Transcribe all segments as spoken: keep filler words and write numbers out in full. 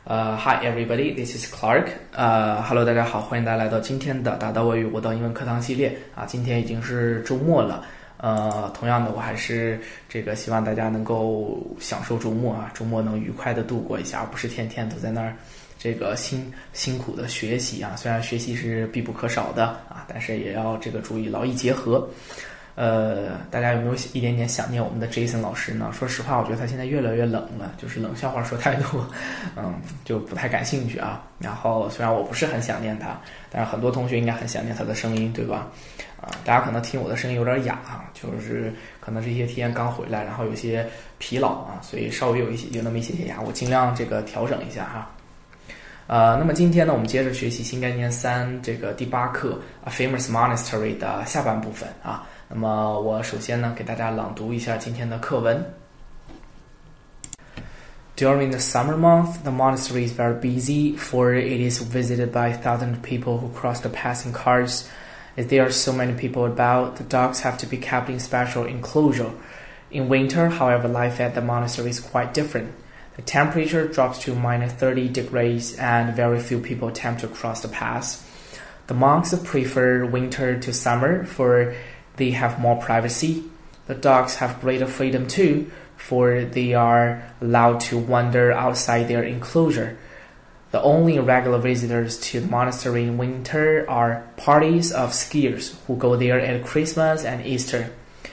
呃、uh, Hi everybody, this is Clark. 呃、uh, ，Hello， 大家好，欢迎大家来到今天的打道外语我的英文课堂系列啊。今天已经是周末了，呃，同样的，我还是这个希望大家能够享受周末啊，周末能愉快的度过一下，而不是天天都在那儿这个辛辛苦的学习啊。虽然学习是必不可少的啊，但是也要这个注意劳逸结合。呃，大家有没有一点点想念我们的 Jason 老师呢？说实话，我觉得他现在越来越冷了，就是冷笑话说太多，嗯，就不太感兴趣啊。然后虽然我不是很想念他，但是很多同学应该很想念他的声音，对吧？啊，大家可能听我的声音有点哑啊，就是可能这些天刚回来，然后有些疲劳啊，所以稍微有一些有那么一些些哑，我尽量这个调整一下哈。呃，那么今天呢，我们接着学习新概念三这个第八课 A Famous Monastery 的下半部分啊。那么我首先呢，给大家朗读一下今天的课文。During the summer month, the monastery is very busy, for it is visited by a thousand people who cross the pass in cars. As there are so many people about, the dogs have to be kept in special enclosure. In winter, however, life at the monastery is quite different. The temperature drops to minus thirty degrees, and very few people attempt to cross the pass. The monks prefer winter to summer, for they have more privacy. The dogs have greater freedom too, for they are allowed to wander outside their enclosure. The only regular visitors to the monastery in winter are parties of skiers who go there at Christmas and Easter.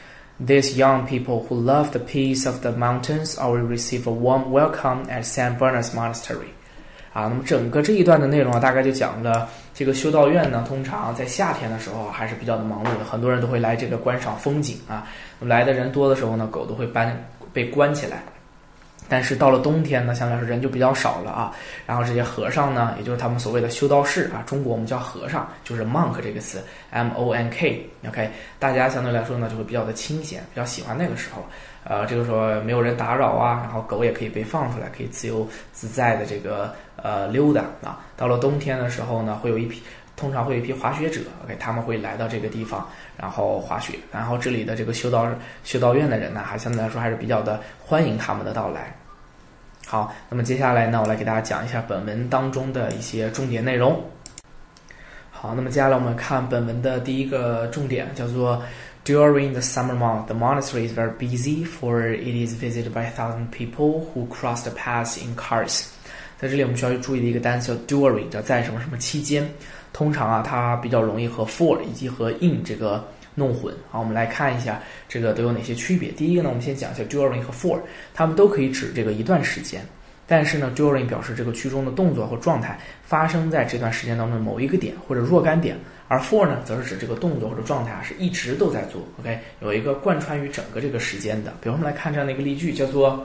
These young people who love the peace of the mountains will receive a warm welcome at Saint Bernard's Monastery. 啊，那么整个这一段的内容啊，大概就讲了这个修道院呢，通常在夏天的时候还是比较的忙碌的，很多人都会来这个观赏风景啊。来的人多的时候呢，狗都会搬被关起来。但是到了冬天呢，相对来说人就比较少了啊。然后这些和尚呢，也就是他们所谓的修道士啊，中国我们叫和尚，就是 monk 这个词 M O N K。OK， 大家相对来说呢就会比较的清闲，比较喜欢那个时候。呃，这个时候没有人打扰啊，然后狗也可以被放出来，可以自由自在的这个呃溜达啊。到了冬天的时候呢，会有一批，通常会有一批滑雪者 ，OK， 他们会来到这个地方，然后滑雪。然后这里的这个修道修道院的人呢，还相对来说还是比较的欢迎他们的到来。好，那么接下来呢，我来给大家讲一下本文当中的一些重点内容。好，那么接下来我们看本文的第一个重点，叫做 During the summer month, the monastery is very busy, for it is visited by a thousand people who cross the pass in cars. 在这里我们需要注意的一个单词叫 during， 叫在什么什么期间。通常啊，它比较容易和 for 以及和 in 这个弄混。好，我们来看一下这个都有哪些区别。第一个呢，我们先讲一下 during 和 for， 它们都可以指这个一段时间。但是呢 during 表示这个句中的动作或状态发生在这段时间当中的某一个点或者若干点，而 for 呢则是指这个动作或者状态啊是一直都在做 OK， 有一个贯穿于整个这个时间的。比如我们来看这样的一个例句，叫做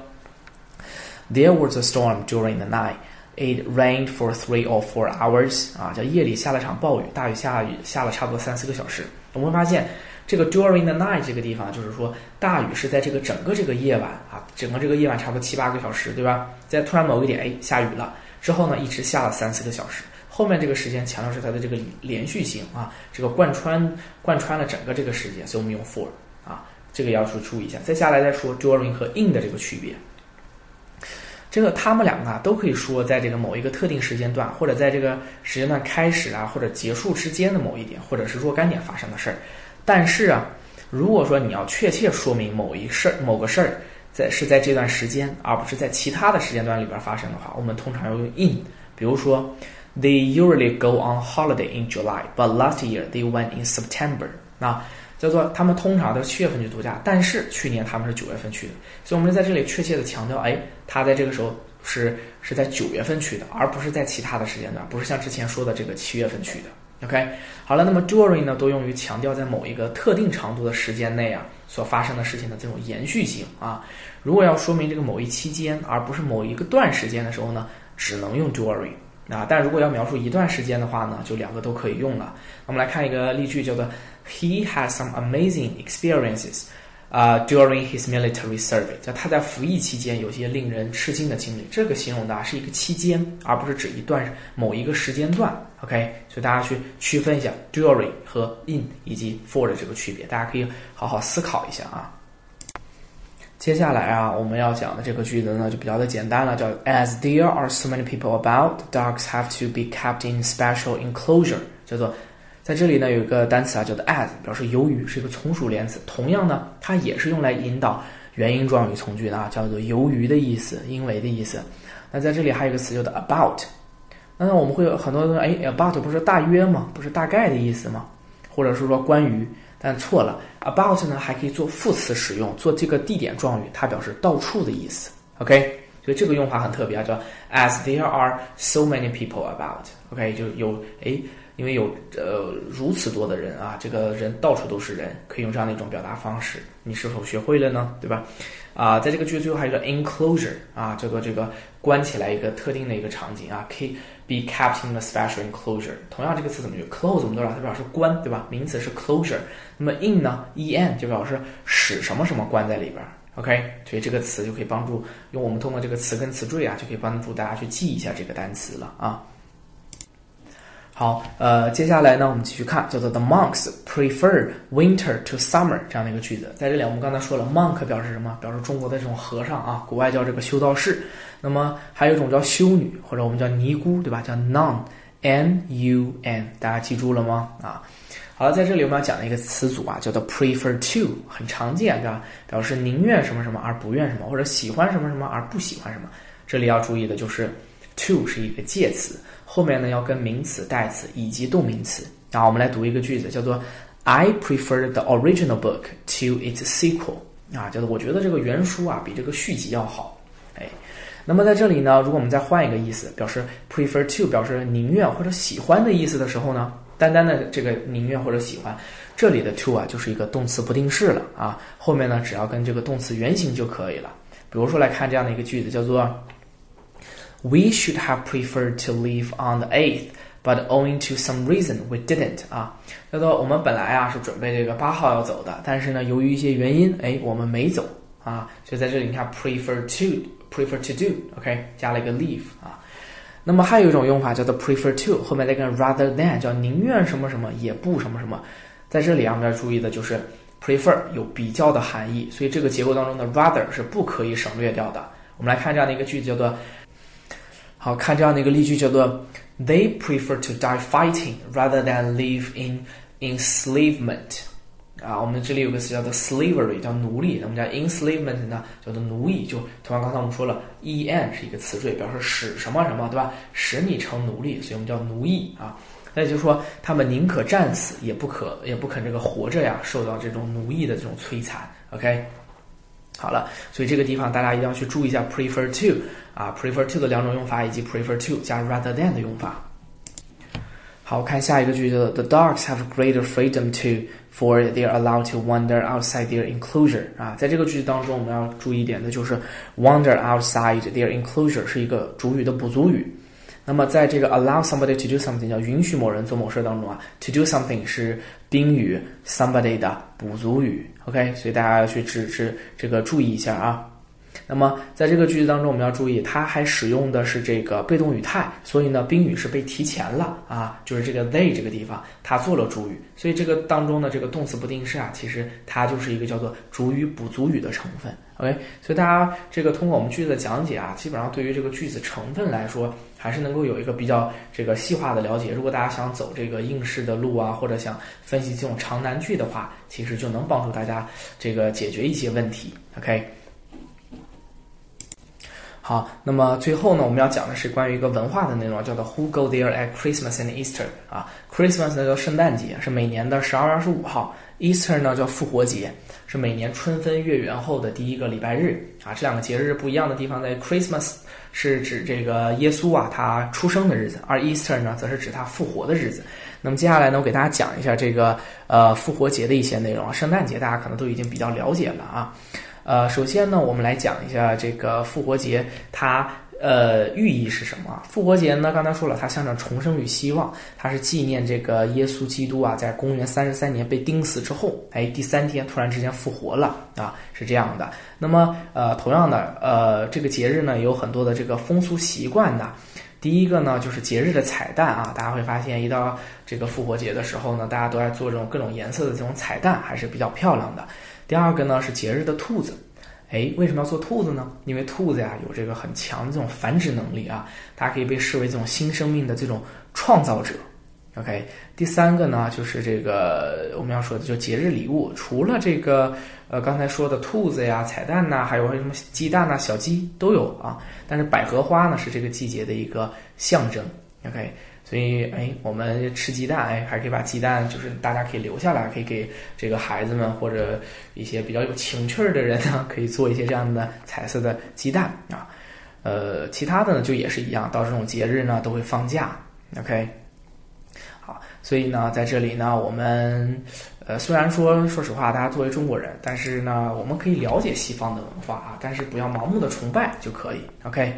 There was a storm during the night. It rained for three or four hours. 啊，叫夜里下了场暴雨，大雨下雨下了差不多三四个小时。我们会发现这个 during the night 这个地方，就是说大雨是在这个整个这个夜晚啊，整个这个夜晚差不多七八个小时，对吧？在突然某个点，哎，下雨了，之后呢，一直下了三四个小时。后面这个时间强调是它的这个连续性啊，这个贯穿贯穿了整个这个时间，所以我们用 for 啊，这个要去注意一下。再下来再说 during 和 in 的这个区别。这个他们两个啊，都可以说在这个某一个特定时间段，或者在这个时间段开始啊或者结束之间的某一点，或者是若干点发生的事儿。但是啊，如果说你要确切说明某一事儿、某个事儿在是在这段时间，而不是在其他的时间段里边发生的话，我们通常要用 in。比如说 ，They usually go on holiday in July, but last year they went in September。啊，叫做他们通常都是七月份去度假，但是去年他们是九月份去的。所以我们在这里确切的强调，哎，他在这个时候是是在九月份去的，而不是在其他的时间段，不是像之前说的这个七月份去的。OK， 好了，那么 during 呢，都用于强调在某一个特定长度的时间内啊所发生的事情的这种延续性啊。如果要说明这个某一期间，而不是某一个段时间的时候呢，只能用 during 啊。但如果要描述一段时间的话呢，就两个都可以用了。我们来看一个例句，叫做 He has some amazing experiences. 啊、uh, ，during his military service， 就他在服役期间有些令人吃惊的经历。这个形容的、啊、是一个期间，而不是指一段某一个时间段。OK， 所以大家去区分一下 during 和 in 以及 for 的这个区别，大家可以好好思考一下啊。 接下来啊，我们要讲的这个句子呢，就比较的简单了，叫 As there are so many people about, dogs have to be kept in special enclosure， 叫做在这里呢有一个单词啊，叫做 as， 表示由于，是一个从属连词。同样呢，它也是用来引导原因状语从句的啊，叫做由于的意思，因为的意思。那在这里还有一个词叫做 about， 那我们会有很多人哎 about 不是大约吗？不是大概的意思吗？或者是说关于？但错了 ，about 呢还可以做副词使用，做这个地点状语，它表示到处的意思。OK， 所以这个用法很特别啊，叫 as there are so many people about。OK， 就有哎，因为有呃如此多的人啊，这个人到处都是人，可以用这样的一种表达方式。你是否学会了呢？对吧？啊，在这个句子最后还有一个 enclosure 啊，这个这个关起来一个特定的一个场景啊，可以 be kept in a special enclosure。同样这个词怎么用 ？close 我们都知道它表示关，对吧？名词是 closure。那么 in 呢 en 就表示使什么什么关在里边。OK， 所以这个词就可以帮助用我们通过这个词根词缀啊，就可以帮助大家去记一下这个单词了啊。好，呃，接下来呢，我们继续看，叫做 The monks prefer winter to summer 这样的一个句子。在这里，我们刚才说了 ，monk 表示什么？表示中国的这种和尚啊，国外叫这个修道士。那么还有一种叫修女，或者我们叫尼姑，对吧？叫 nun，n u n， 大家记住了吗？啊，好了，在这里我们要讲的一个词组啊，叫做 prefer to， 很常见，对吧？表示宁愿什么什么而不愿什么，或者喜欢什么什么而不喜欢什么。这里要注意的就是 to 是一个介词。后面呢要跟名词、代词以及动名词。然后我们来读一个句子，叫做 I prefer the original book to its sequel。啊，叫做我觉得这个原书啊比这个续集要好。哎，那么在这里呢，如果我们再换一个意思，表示 prefer to 表示宁愿或者喜欢的意思的时候呢，单单的这个宁愿或者喜欢，这里的 to 啊就是一个动词不定式了啊。后面呢只要跟这个动词原形就可以了。比如说来看这样的一个句子，叫做We should have preferred to leave on the eighth, but owing to some reason, we didn't. 啊，叫做我们本来啊是准备这个八号要走的，但是呢，由于一些原因，哎，我们没走啊。所以在这里你看 prefer to, prefer to do，OK， 加了一个 leave 啊。那么还有一种用法叫做 prefer to， 后面再跟 rather than， 叫宁愿什么什么也不什么什么。在这里啊，我们要注意的就是 prefer 有比较的含义，所以这个结构当中的 rather 是不可以省略掉的。我们来看这样的一个句子，叫做好，看这样的一个例句，叫做 They prefer to die fighting rather than live in enslavement。啊，我们这里有个词叫做 slavery， 叫奴隶。我们叫 enslavement 呢，叫做奴役。就同样刚才我们说了 en 是一个词缀，表示使什么什么，对吧？使你成奴隶，所以我们叫奴役啊。那也就是说，他们宁可战死，也不可也不肯这个活着呀，受到这种奴役的这种摧残。OK。好了，所以这个地方大家一定要去注意一下 prefer to 啊 prefer to 的两种用法，以及 prefer to 加 rather than 的用法。好，看下一个句子 The dogs have greater freedom to for they are allowed to wander outside their enclosure 啊，在这个句子当中我们要注意一点的就是 wander outside their enclosure 是一个主语的补足语。那么在这个 allow somebody to do something 叫允许某人做某事当中啊 to do something 是宾语 somebody 的补足语 OK， 所以大家要去只是这个注意一下啊。那么在这个句子当中我们要注意它还使用的是这个被动语态，所以呢宾语是被提前了啊，就是这个 they 这个地方它做了主语，所以这个当中的这个动词不定式啊，其实它就是一个叫做主语补足语的成分 OK， 所以大家这个通过我们句子的讲解啊，基本上对于这个句子成分来说还是能够有一个比较这个细化的了解。如果大家想走这个应试的路啊，或者想分析这种长难句的话，其实就能帮助大家这个解决一些问题 OK。好，那么最后呢，我们要讲的是关于一个文化的内容，叫做 Who go there at Christmas and Easter 啊 ，Christmas 呢叫圣诞节，是每年的十二月二十五号 ，Easter 呢叫复活节，是每年春分月圆后的第一个礼拜日啊。这两个节日不一样的地方在 Christmas 是指这个耶稣啊他出生的日子，而 Easter 呢则是指他复活的日子。那么接下来呢，我给大家讲一下这个呃复活节的一些内容，圣诞节大家可能都已经比较了解了啊。呃，首先呢，我们来讲一下这个复活节，它呃寓意是什么？复活节呢，刚才说了，它象征重生与希望，它是纪念这个耶稣基督啊，在公元三十三年被钉死之后，哎，第三天突然之间复活了啊，是这样的。那么呃，同样的呃，这个节日呢，有很多的这个风俗习惯的。第一个呢，就是节日的彩蛋啊，大家会发现一到这个复活节的时候呢，大家都在做这种各种颜色的这种彩蛋，还是比较漂亮的。第二个呢是节日的兔子， 哎，为什么要做兔子呢？因为兔子呀有这个很强的这种繁殖能力啊，它可以被视为这种新生命的这种创造者。OK， 第三个呢，就是这个我们要说的就节日礼物，除了这个呃刚才说的兔子呀、彩蛋呐、还有什么鸡蛋呐、小鸡都有啊。但是百合花呢是这个季节的一个象征。OK， 所以哎，我们吃鸡蛋，哎，还可以把鸡蛋就是大家可以留下来，可以给这个孩子们或者一些比较有情趣的人呢，可以做一些这样的彩色的鸡蛋啊。呃，其他的呢就也是一样，到这种节日呢都会放假。OK。好，所以呢，在这里呢，我们呃，虽然说，说实话，大家作为中国人，但是呢，我们可以了解西方的文化啊，但是不要盲目的崇拜就可以。OK。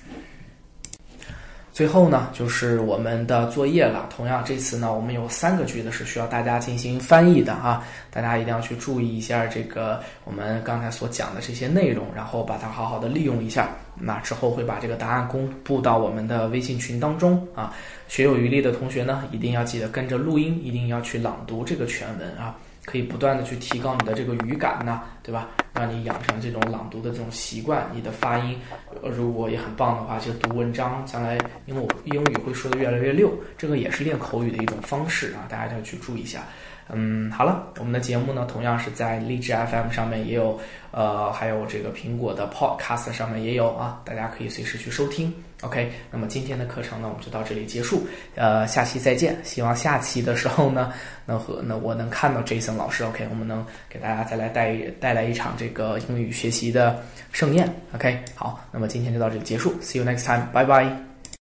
最后呢，就是我们的作业了。同样，这次呢，我们有三个句子是需要大家进行翻译的啊，大家一定要去注意一下这个我们刚才所讲的这些内容，然后把它好好的利用一下。那之后会把这个答案公布到我们的微信群当中啊。学有余力的同学呢，一定要记得跟着录音，一定要去朗读这个全文啊，可以不断的去提高你的这个语感呐，对吧？让你养成这种朗读的这种习惯，你的发音如果也很棒的话，就读文章，将来因为我英语会说的越来越溜，这个也是练口语的一种方式啊，大家要去注意一下。嗯，好了，我们的节目呢，同样是在荔枝 F M 上面也有，呃，还有这个苹果的 Podcast 上面也有啊，大家可以随时去收听。OK， 那么今天的课程呢，我们就到这里结束，呃，下期再见。希望下期的时候呢，能和那我能看到 Jason 老师 ，OK， 我们能给大家再来带带来一场这个英语学习的盛宴。OK， 好，那么今天就到这里结束 ，See you next time， 拜拜。